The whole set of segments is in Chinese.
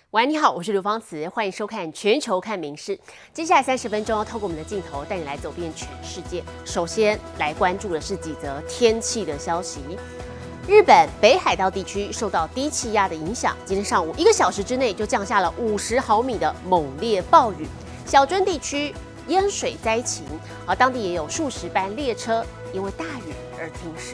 喂，你好，我是刘芳慈，欢迎收看《全球看名事》。接下来30分钟要透过我们的镜头带你来走遍全世界。首先来关注的是几则天气的消息。日本北海道地区受到低气压的影响，今天上午1个小时之内就降下了50毫米的猛烈暴雨，小樽地区淹水灾情，而当地也有数十班列车因为大雨而停驶。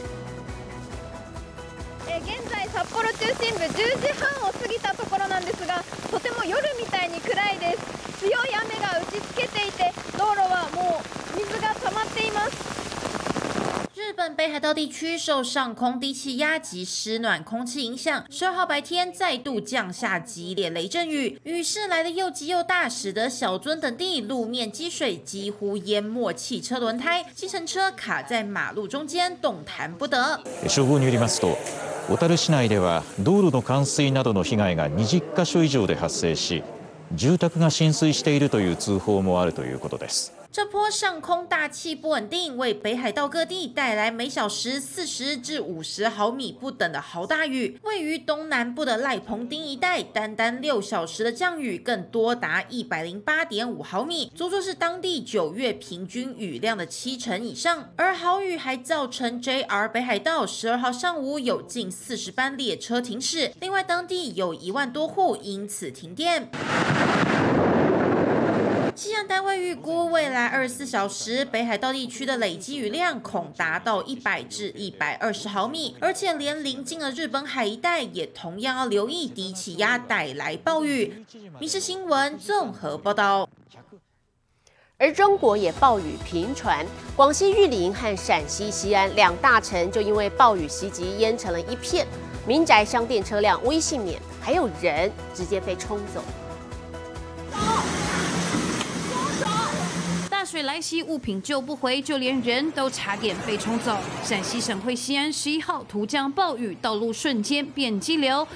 現在札幌中心部10時半を過ぎたところなんですが、とても夜みたいに暗いです。強い雨が打ちつけていて、道路はもう水が溜まっています。 日本北海道地区受上空低气压及湿暖空气影响，12号白天再度降下激烈雷阵雨，雨势来得又急又大，使得小樽等地路面积水几乎淹没汽车轮胎，计程车卡在马路中间，动弹不得。 消防によりますと、小樽市内では道路の冠水などの被害が20カ所以上で発生し、住宅が浸水しているという通報もあるということです。 这波上空大气不稳定，为北海道各地带来每小时40至50毫米不等的豪大雨。位于东南部的赖蓬町一带，单6小时的降雨更多达108.5毫米，足足是当地9月平均雨量的70%以上。而豪雨还造成 JR 北海道12号上午有近40班列车停驶，另外当地有1万多户因此停电。气象单位预估，未来24小时北海道地区的累积雨量恐达到100至120毫米，而且连邻近的日本海一带也同样要留意低气压带来暴雨。民事新闻综合报道。 而中国也暴雨频传，广西玉林和陕西西安2大城就因为暴雨袭击淹成了一片，民宅、商店、车辆无一幸免，还有人直接被冲走。 大水来袭，物品救不回，就连人都差点被冲走。陕西省会西安11号突降暴雨，道路瞬间变激流，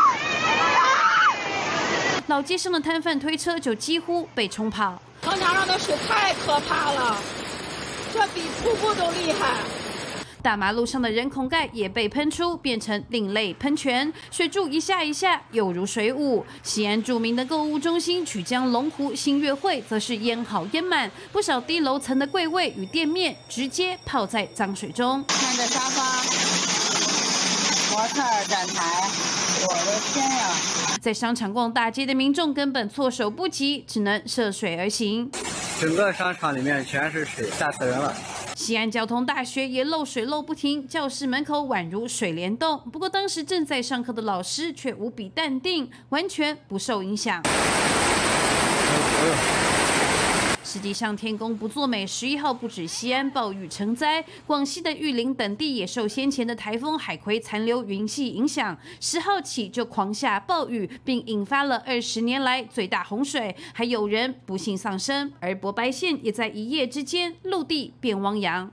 老街上的摊贩推车就几乎被冲跑。 长江上的水太可怕了，这比瀑布都厉害。 大马路上的人孔盖也被喷出，变成另类喷泉，水柱一下一下，犹如水舞。西安著名的购物中心曲江龙湖新月汇则是淹好淹满，不少低楼层的柜位与店面直接泡在脏水中。 看着沙发、模特、展台，我的天呀！ 在商场逛大街的民众根本措手不及，只能涉水而行。 整个商场里面全是水，吓死人了。 西安交通大学也漏水漏不停，教室门口宛如水帘洞。不过当时正在上课的老师却无比淡定，完全不受影响。实际上，天公不作美，11号不止西安暴雨成灾，广西的玉林等地也受先前的台风海葵残留云系影响，10号起就狂下暴雨，并引发了20年来最大洪水，还有人不幸丧生。而博白县也在一夜之间陆地变汪洋。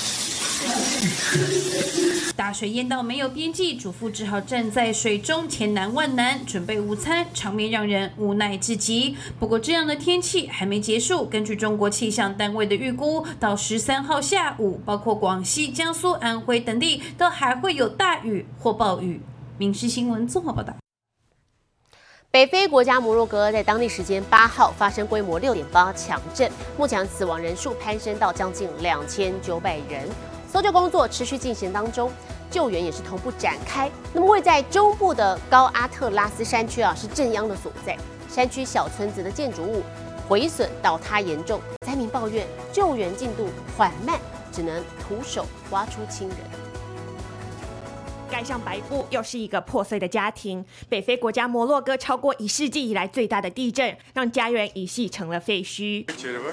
大水淹到没有边际，主妇只好站在水中千难万难准备午餐，场面让人无奈至极。不过这样的天气还没结束，根据中国气象单位的预估，到13号下午，包括广西、江苏、安徽等地都还会有大雨或暴雨。民事新闻综合报道。 北非国家摩洛哥在当地时间8号发生规模6.8强震，目前死亡人数攀升到将近2900人。搜救工作持续进行当中，救援也是同步展开。那么位在中部的高阿特拉斯山区是震央的所在，山区小村子的建筑物毁损倒塌严重，灾民抱怨救援进度缓慢，只能徒手挖出亲人。 盖上白布，又是一个破碎的家庭。北非国家摩洛哥超过1世纪以来最大的地震，让家园一系成了废墟。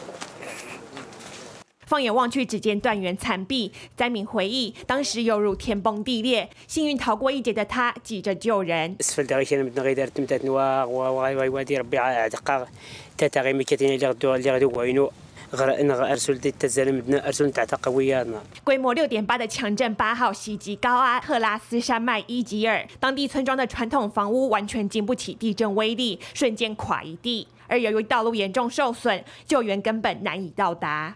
放眼望去，只见断垣残壁。灾民回忆，当时犹如天崩地裂，幸运逃过一劫的他急着救人。规模6.8的强震8号袭击高阿特拉斯山脉伊吉尔，当地村庄的传统房屋完全经不起地震威力，瞬间垮一地。而由于道路严重受损，救援根本难以到达。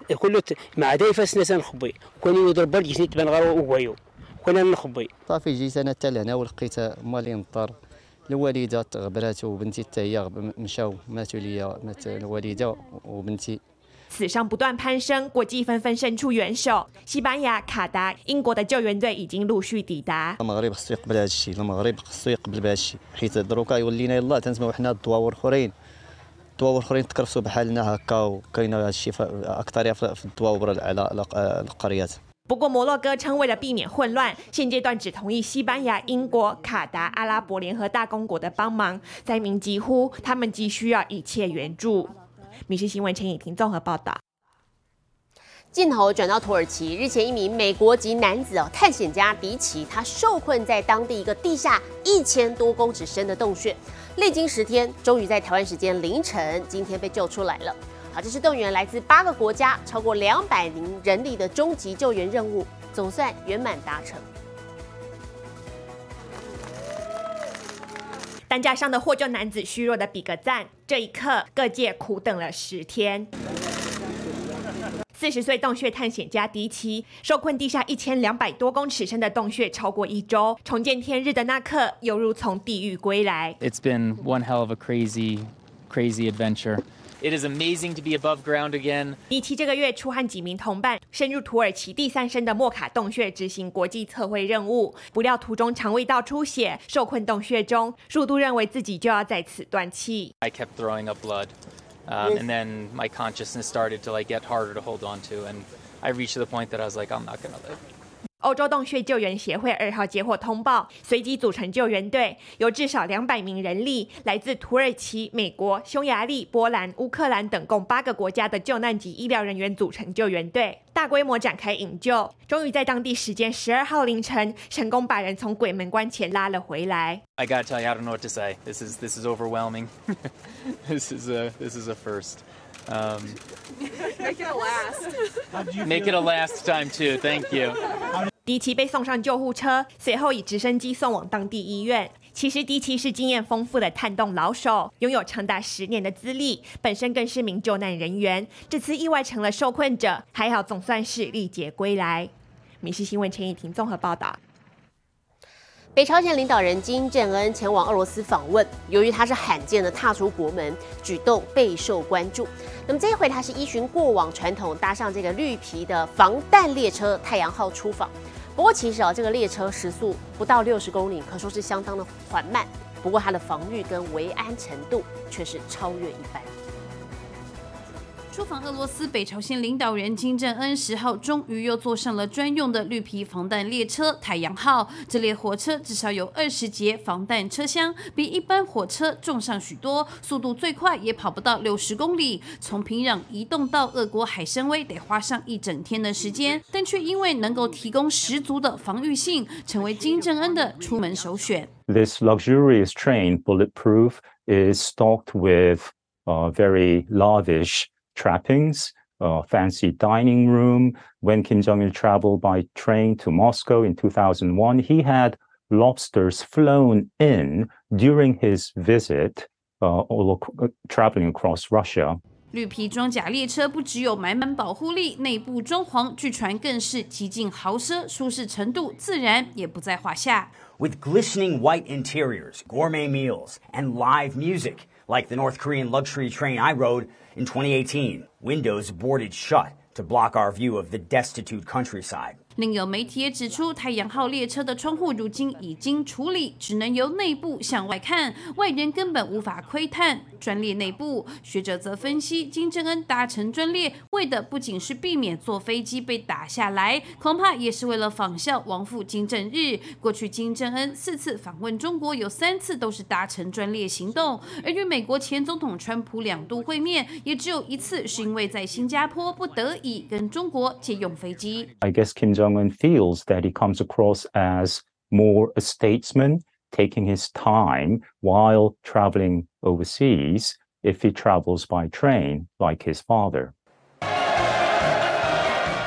صافي جيت انا حتى لهنا ولقيت مالي نضطر الوالده غبرات وبنتي حتى هي مشاو ماتوا ليا مات الوالده وبنتي。 死伤不断攀升，国际纷纷伸出援手。西班牙、卡达、英国的救援队已经陆续抵达。 المغرب خصو يقبل هذا الشيء، المغرب خصو يقبل بهذا الشيء، حيت دروكا يولينا يلاه تنسمعوا حنا الدواور الاخرين تكرفسوا بحالنا هكا، وكاينه هذا الشيء اكثر في الدواور على القريات。 不过摩洛哥称，为了避免混乱，现阶段只同意西班牙、英国、卡达、阿拉伯联合大公国的帮忙。灾民疾呼，他们急需要一切援助。民事新闻陈以婷综合报道。 镜头转到土耳其，日前一名美国籍男子探险家迪奇，他受困在当地一个地下1000多公尺深的洞穴，历经10天，终于在台湾时间凌晨今天被救出来了。好，这是动员来自8个国家超过200名人力的终极救援任务，总算圆满达成。 担架上的获救男子虚弱的比个赞，这一刻各界苦等了10天。40岁洞穴探险家迪奇受困地下1200多公尺深的洞穴超过1周，重见天日的那刻，犹如从地狱归来。 It's been one hell of a crazy adventure. It is amazing to be above ground again. 迪奇这个月初和几名同伴深入土耳其第3深的莫卡洞穴执行国际测绘任务，不料途中肠胃道出血，受困洞穴中，数度认为自己就要在此断气。 I kept throwing up blood, and then my consciousness started to get harder to hold on to, and I reached the point that I was like, I'm not gonna live. 欧洲洞穴救援协会2号接获通报，随即组成救援队，由至少200名人力，来自土耳其、美国、匈牙利、波兰、乌克兰等共8个国家的救难及医疗人员组成救援队，大规模展开营救，终于在当地时间12号凌晨，成功把人从鬼门关前拉了回来。 I gotta tell you, I don't know what to say. This is overwhelming. This is a first. Make it a last. Make it a last time too. Thank you. 迪奇被送上救护车，随后以直升机送往当地医院。其实迪奇是经验丰富的探洞老手，拥有长达10年的资历，本身更是名救难人员。这次意外成了受困者，还好总算是历劫归来。民事新闻陈以婷综合报道。 北朝鲜领导人金正恩前往俄罗斯访问，由于他是罕见的踏出国门，举动备受关注。那么这一回，他是依循过往传统，搭上这个绿皮的防弹列车太阳号出访。不过其实这个列车时速不到60公里，可说是相当的缓慢。不过它的防御跟维安程度却是超越一般。 出访俄罗斯，北朝鲜领导人金正恩10号终于又坐上了专用的绿皮防弹列车太阳号。这列火车至少有20节防弹车厢，比一般火车重上许多，速度最快也跑不到60公里。从平壤移动到俄国海参崴得花上1整天的时间，但却因为能够提供十足的防御性，成为金正恩的出门首选。 This luxurious train, bulletproof, is stocked with very lavish trappings, fancy dining room. When Kim Jong-il traveled by train to Moscow in 2001, he had lobsters flown in during his visit, traveling across Russia. 绿皮装甲列车不只有满满保护力，内部装潢据传更是极尽豪奢，舒适程度自然也不在话下。 With glistening white interiors, gourmet meals, and live music, like the North Korean luxury train I rode in 2018, windows boarded shut to block our view of the destitute countryside. 另有媒体也指出，太阳号列车的窗户如今已经处理，只能由内部向外看，外人根本无法窥探专列内部。学者则分析，金正恩搭乘专列，为的不仅是避免坐飞机被打下来，恐怕也是为了仿效亡父金正日。过去金正恩4次访问中国，有3次都是搭乘专列行动，而与美国前总统川普2度会面，也只有1次是因为在新加坡不得已跟中国借用飞机。 I guess Kim Jong-un feels that he comes across as more a statesman, taking his time while traveling overseas if he travels by train like his father.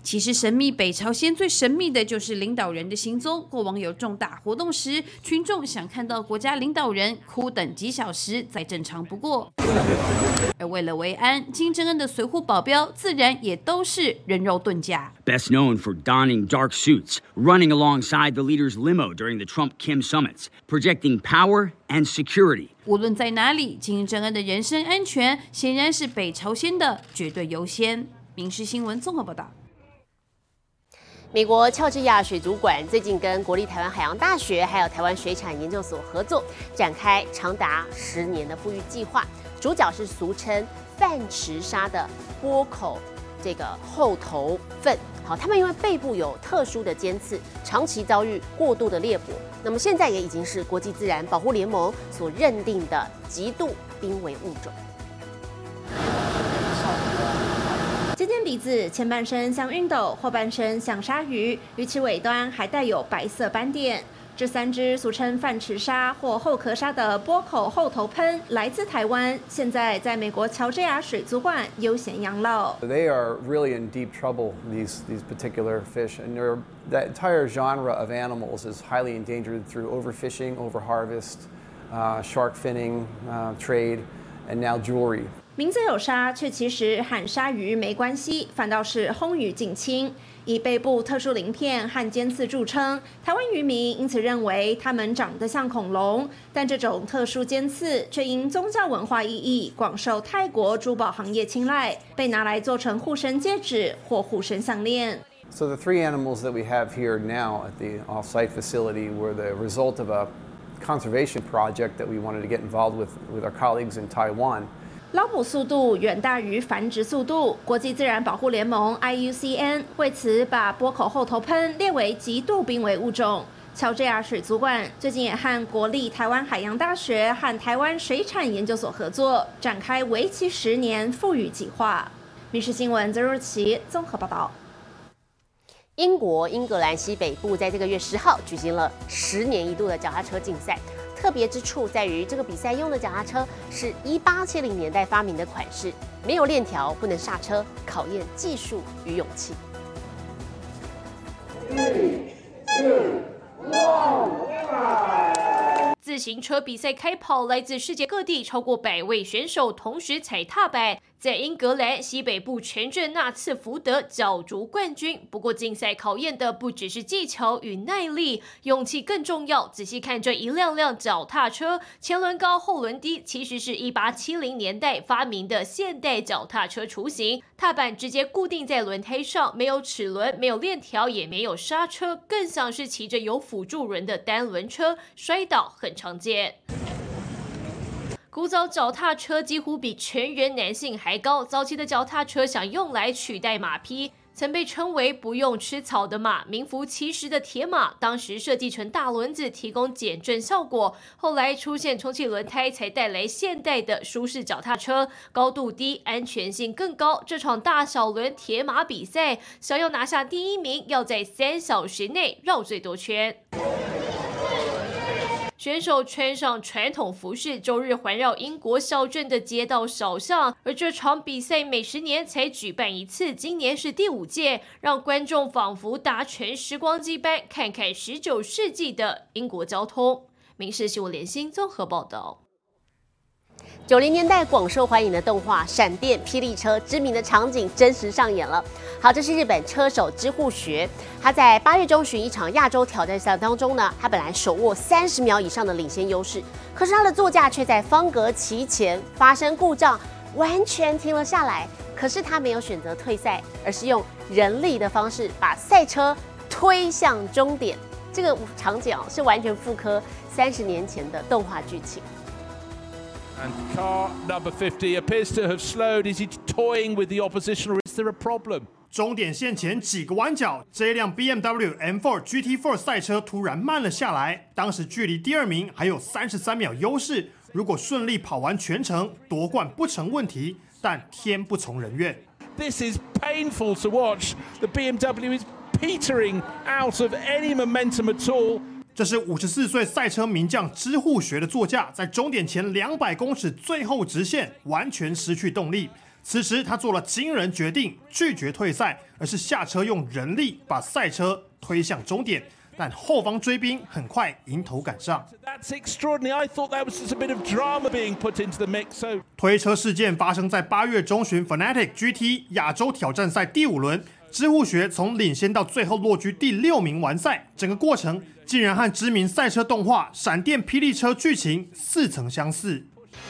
其实神秘北朝鲜最神秘的就是领导人的行踪。过往有重大活动时，群众想看到国家领导人，苦等几小时再正常不过。而为了维安，金正恩的随护保镖自然也都是人肉盾甲。 Best known for donning dark suits, running alongside the leader's limo during the Trump-Kim summits, projecting power and security. 无论在哪里，金正恩的人身安全显然是北朝鲜的绝对优先。民视新闻综合报道。 美国乔治亚水族馆最近跟国立台湾海洋大学还有台湾水产研究所合作，展开长达10年的复育计划。主角是俗称饭池鲨的波口这个后头鲼。好，它们因为背部有特殊的尖刺，长期遭遇过度的猎捕，那么现在也已经是国际自然保护联盟所认定的极度濒危物种。 尖尖鼻子，前半身像熨斗，后半身像鲨鱼，鱼鳍尾端还带有白色斑点。这3只俗称饭池鲨或后壳鲨的波口后头鲼来自台湾，现在在美国乔治亚水族馆悠闲养老。 They are really in deep trouble, these particular fish, and that entire genre of animals is highly endangered through overfishing, overharvest, shark finning, trade, and now jewelry. 名字有鲨，却其实和鲨鱼没关系，反倒是轰鱼近亲。以背部特殊鳞片和尖刺著称，台湾渔民因此认为它们长得像恐龙，但这种特殊尖刺却因宗教文化意义广受泰国珠宝行业青睐，被拿来做成护身戒指或护身项链。 So the 3 animals that we have here now at the off-site facility were the result of a conservation project that we wanted to get involved with our colleagues in Taiwan. 捞捕速度远大于繁殖速度，国际自然保护联盟 IUCN 为此把波口后头鲼列为极度濒危物种。乔治亚水族馆最近也和国立台湾海洋大学和台湾水产研究所合作，展开为期10年复育计划。民视新闻曾若琪综合报道。 英国英格兰西北部在这个月10号举行了10年一度的脚踏车竞赛。 特别之处在于，这个比赛用的脚踏车是1870年代发明的款式，没有链条，不能刹车，考验技术与勇气。 自行车比赛开跑，来自世界各地超过100位选手同时踩踏板，在英格兰西北部城镇纳茨福德角逐冠军。不过，竞赛考验的不只是技巧与耐力，勇气更重要。仔细看这一辆辆脚踏车，前轮高后轮低，其实是1870年代发明的现代脚踏车雏形。踏板直接固定在轮胎上，没有齿轮，没有链条，也没有刹车，更像是骑着有辅助轮的单轮车，摔倒很常见。 古早脚踏车几乎比成人男性还高，早期的脚踏车想用来取代马匹，曾被称为不用吃草的马，名副其实的铁马。当时设计成大轮子，提供减震效果。后来出现充气轮胎，才带来现代的舒适脚踏车，高度低，安全性更高。这场大小轮铁马比赛，想要拿下第1名，要在3小时内绕最多圈。 选手穿上传统服饰，周日环绕英国小镇的街道小巷。而这场比赛每10年才举办一次，今年是第5届，让观众仿佛搭乘时光机般，看看19世纪的英国交通。民视新闻联新综合报道。 90年代广受欢迎的动画《闪电霹雳车》知名的场景真实上演了。好，这是日本车手知户学，他在8月中旬一场亚洲挑战赛当中呢，他本来手握30秒以上的领先优势，可是他的座驾却在方格旗前发生故障，完全停了下来。可是他没有选择退赛，而是用人力的方式把赛车推向终点。这个场景是完全复刻30年前的动画剧情。 And car number 50 appears to have slowed. Is he toying with the opposition, or is there a problem? 终点线前几个弯角，这一辆 BMW M4 GT4 赛车突然慢了下来。当时距离第2名还有33秒优势，如果顺利跑完全程，夺冠不成问题。但天不从人愿。 This is painful to watch. The BMW is petering out of any momentum at all. 这是54岁赛车名将知户学的座驾，在终点前200公尺最后直线完全失去动力。 此时他做了惊人决定，拒绝退赛，而是下车用人力把赛车推向终点。但后方追兵很快迎头赶上。 That's extraordinary. I thought that was just a bit of drama being put into the mix. So 推车事件发生在8月中旬 Fanatec GT 亚洲挑战赛第5轮，知户学从领先到最后落居第6名完赛，整个过程竟然和知名赛车动画《闪电霹雳车》剧情似曾相似。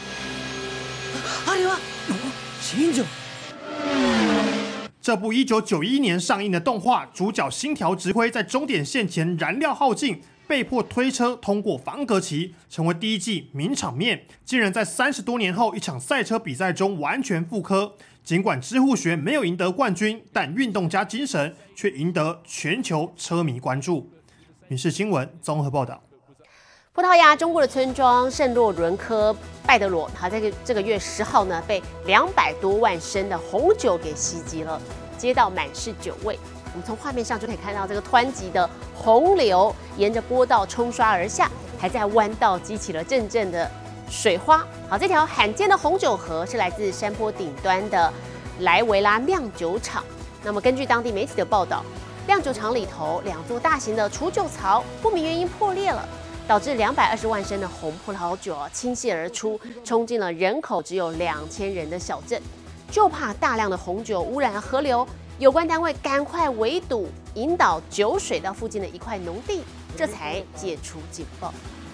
这部1991年上映的动画，主角新条直辉在终点线前燃料耗尽，被迫推车通过方格旗，成为第1季名场面。竟然在30多年后一场赛车比赛中完全复刻。尽管知户学没有赢得冠军，但运动家精神却赢得全球车迷关注。民视新闻综合报道。 葡萄牙中部的村庄圣洛伦科拜德罗，他在这个月10号呢，被200多万升的红酒给袭击了，街道满是酒味。我们从画面上就可以看到这个湍急的洪流沿着坡道冲刷而下，还在弯道激起了阵阵的水花。好，这条罕见的红酒河是来自山坡顶端的莱维拉酿酒厂。那么根据当地媒体的报道，酿酒厂里头2座大型的储酒槽不明原因破裂了。导致220万升的红葡萄酒倾泻而出，冲进了人口只有2000人的小镇。就怕大量的红酒污染河流，有关单位赶快围堵，引导酒水到附近的一块农地，这才解除警报。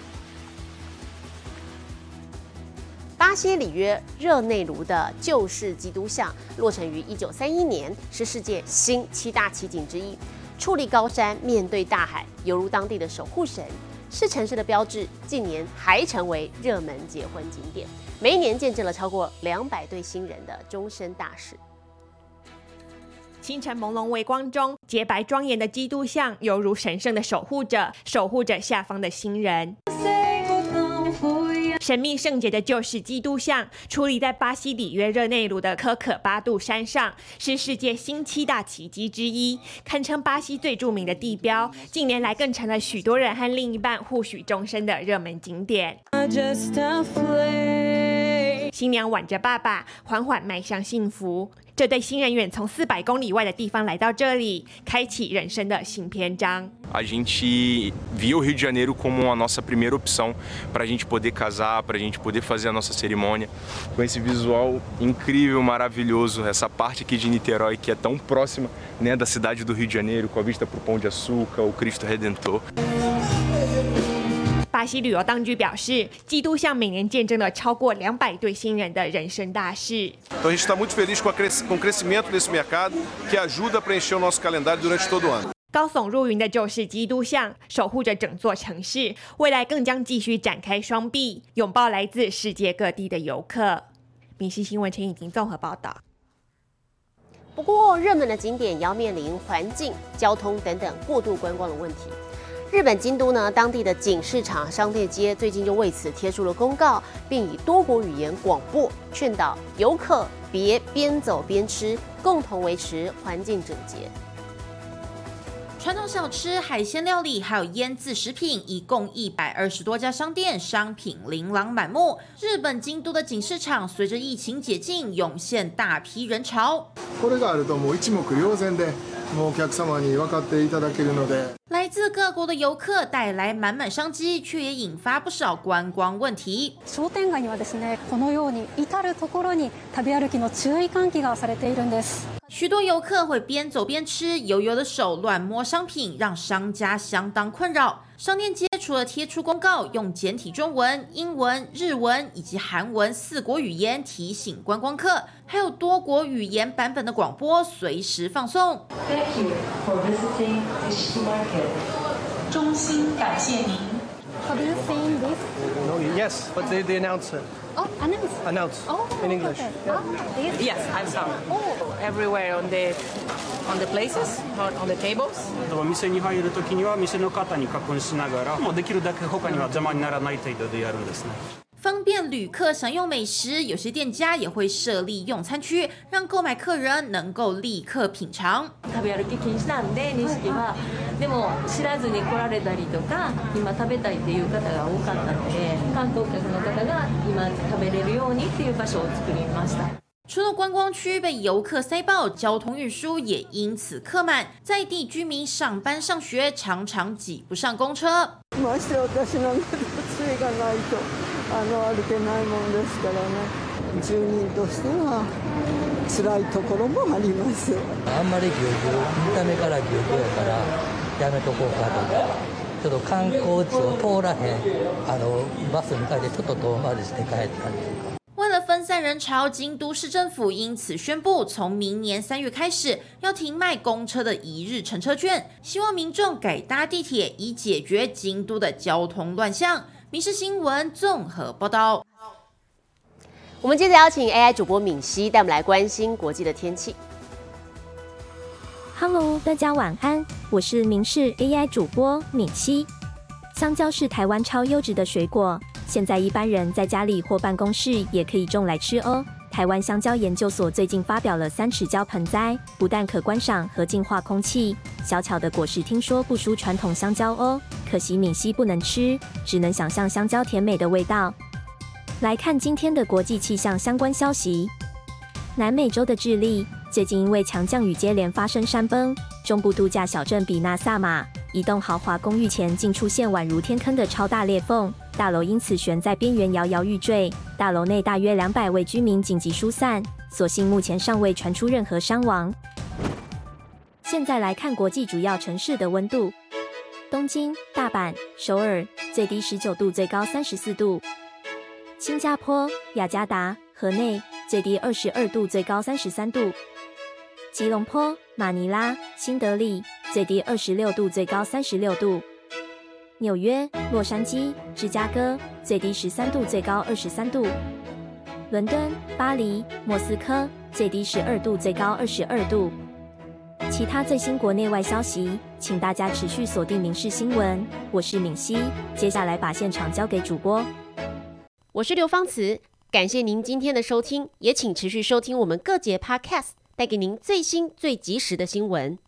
巴西里约热内卢的救世基督像落成于1931年，是世界新7大奇景之一。矗立高山，面对大海，犹如当地的守护神。是城市的标志，近年还成为热门结婚景点，每一年见证了超过200对新人的终身大事。 清晨朦胧微光中，洁白庄严的基督像犹如神圣的守护者，守护着下方的新人。神秘圣洁的救世基督像矗立在巴西里约热内卢的科可巴杜山上，是世界新7大奇迹之一，堪称巴西最著名的地标。近年来更成了许多人和另一半互许终身的热门景点。新娘挽着爸爸，缓缓迈向幸福。这对新人远从400公里外的地方来到这里，开启人生的新篇章。 A gente via o Rio de Janeiro como a nossa primeira opção para a gente poder casar, para a gente poder fazer a nossa cerimônia, com esse visual incrível, maravilhoso, essa parte aqui de Niterói que é tão próxima, né, da cidade do Rio de Janeiro, com a vista para o Pão de Açúcar, o Cristo Redentor. 巴西旅游当局表示，基督像每年见证了超过200对新人的人生大事。 Então a gente está muito feliz com o crescimento desse mercado, que ajuda a preencher o nosso calendário durante todo o ano. 高耸入云的救世基督像守护着整座城市，未来更将继续展开双臂，拥抱来自世界各地的游客。民视新闻陈以婷综合报道。 不过，热门的景点也要面临环境、交通等等过度观光的问题。日本京都呢，当地的景市场、商店街最近就为此贴出了公告，并以多国语言广播，劝导游客别边走边吃，共同维持环境整洁。 传统小吃、海鲜料理，还有腌制食品，一共120多家商店，商品琳琅满目。日本京都的景市场随着疫情解禁，涌现大批人潮。 これがあるともう一目瞭然で、もうお客様に分かっていただけるので。 来自各国的游客带来满满商机，却也引发不少观光问题。 商店街にはですね、このように至るところに食べ歩きの注意喚起がされているんです。 许多游客会边走边吃，油油的手乱摸商品，让商家相当困扰。商店街除了贴出公告，用简体中文、英文、日文以及韩文4国语言提醒观光客，还有多国语言版本的广播随时放送。 Thank you for visiting this market. 衷心感谢您。 Have you seen this? No, yes, but they announce it. Oh, announce. Announce. Oh, in English. Okay. Yeah. This? Yes, I saw. Everywhere on the places, on the tables. お店に入るときには店の方に確認しながら、もうできるだけ他には邪魔にならない程度でやるんですね。 方便旅客享用美食，有些店家也会设立用餐区，让购买客人能够立刻品尝。 食べ歩き禁止なんで錦は、でも知らずに来られたりとか、今食べたいっていう方が多かったので、観光客の方が今食べれるようにっていう場所を作りました。 除了观光区被游客塞爆，交通运输也因此客满，在地居民上班上学常常挤不上公车。 まして私なんか杖がないと歩けないもんですからね。住人としては辛いところもあります。 あんまりぎゅうぎゅう、見た目からぎゅうぎゅうやからやめとこうかとか。ちょっと観光地を通らへんバスに変えてちょっと遠回りして帰ったりとか。 为了分散人潮，京都市政府因此宣布，从明年3月开始要停卖公车的一日乘车券，希望民众改搭地铁，以解决京都的交通乱象。民视新闻综合报道。 我们接着邀请 AI 主播敏熙带我们来关心国际的天气。 Hello， 大家晚安，我是民视 AI 主播敏熙。香蕉是台湾超优质的水果，现在一般人在家里或办公室也可以种来吃哦。台湾香蕉研究所最近发表了3尺蕉盆栽，不但可观赏和净化空气，小巧的果实听说不输传统香蕉哦。可惜敏熙不能吃，只能想象香蕉甜美的味道。来看今天的国际气象相关消息。南美洲的智利最近因为强降雨接连发生山崩，中部度假小镇比纳萨马一栋豪华公寓前竟出现宛如天坑的超大裂缝，大楼因此悬在边缘摇摇欲坠，大楼内大约200位居民紧急疏散，所幸目前尚未传出任何伤亡。现在来看国际主要城市的温度：东京、大阪、首尔最低19度，最高34度；新加坡、雅加达、河内最低22度，最高33度；吉隆坡、马尼拉、新德里最低26度，最高36度；纽约、洛杉矶、芝加哥最低13度，最高23度；伦敦、巴黎、莫斯科最低12度，最高22度。其他最新国内外消息，请大家持续锁定民视新闻。我是敏熙，接下来把现场交给主播。 我是刘芳慈，感谢您今天的收听，也请持续收听我们各节 Podcast， 带给您最新最及时的新闻。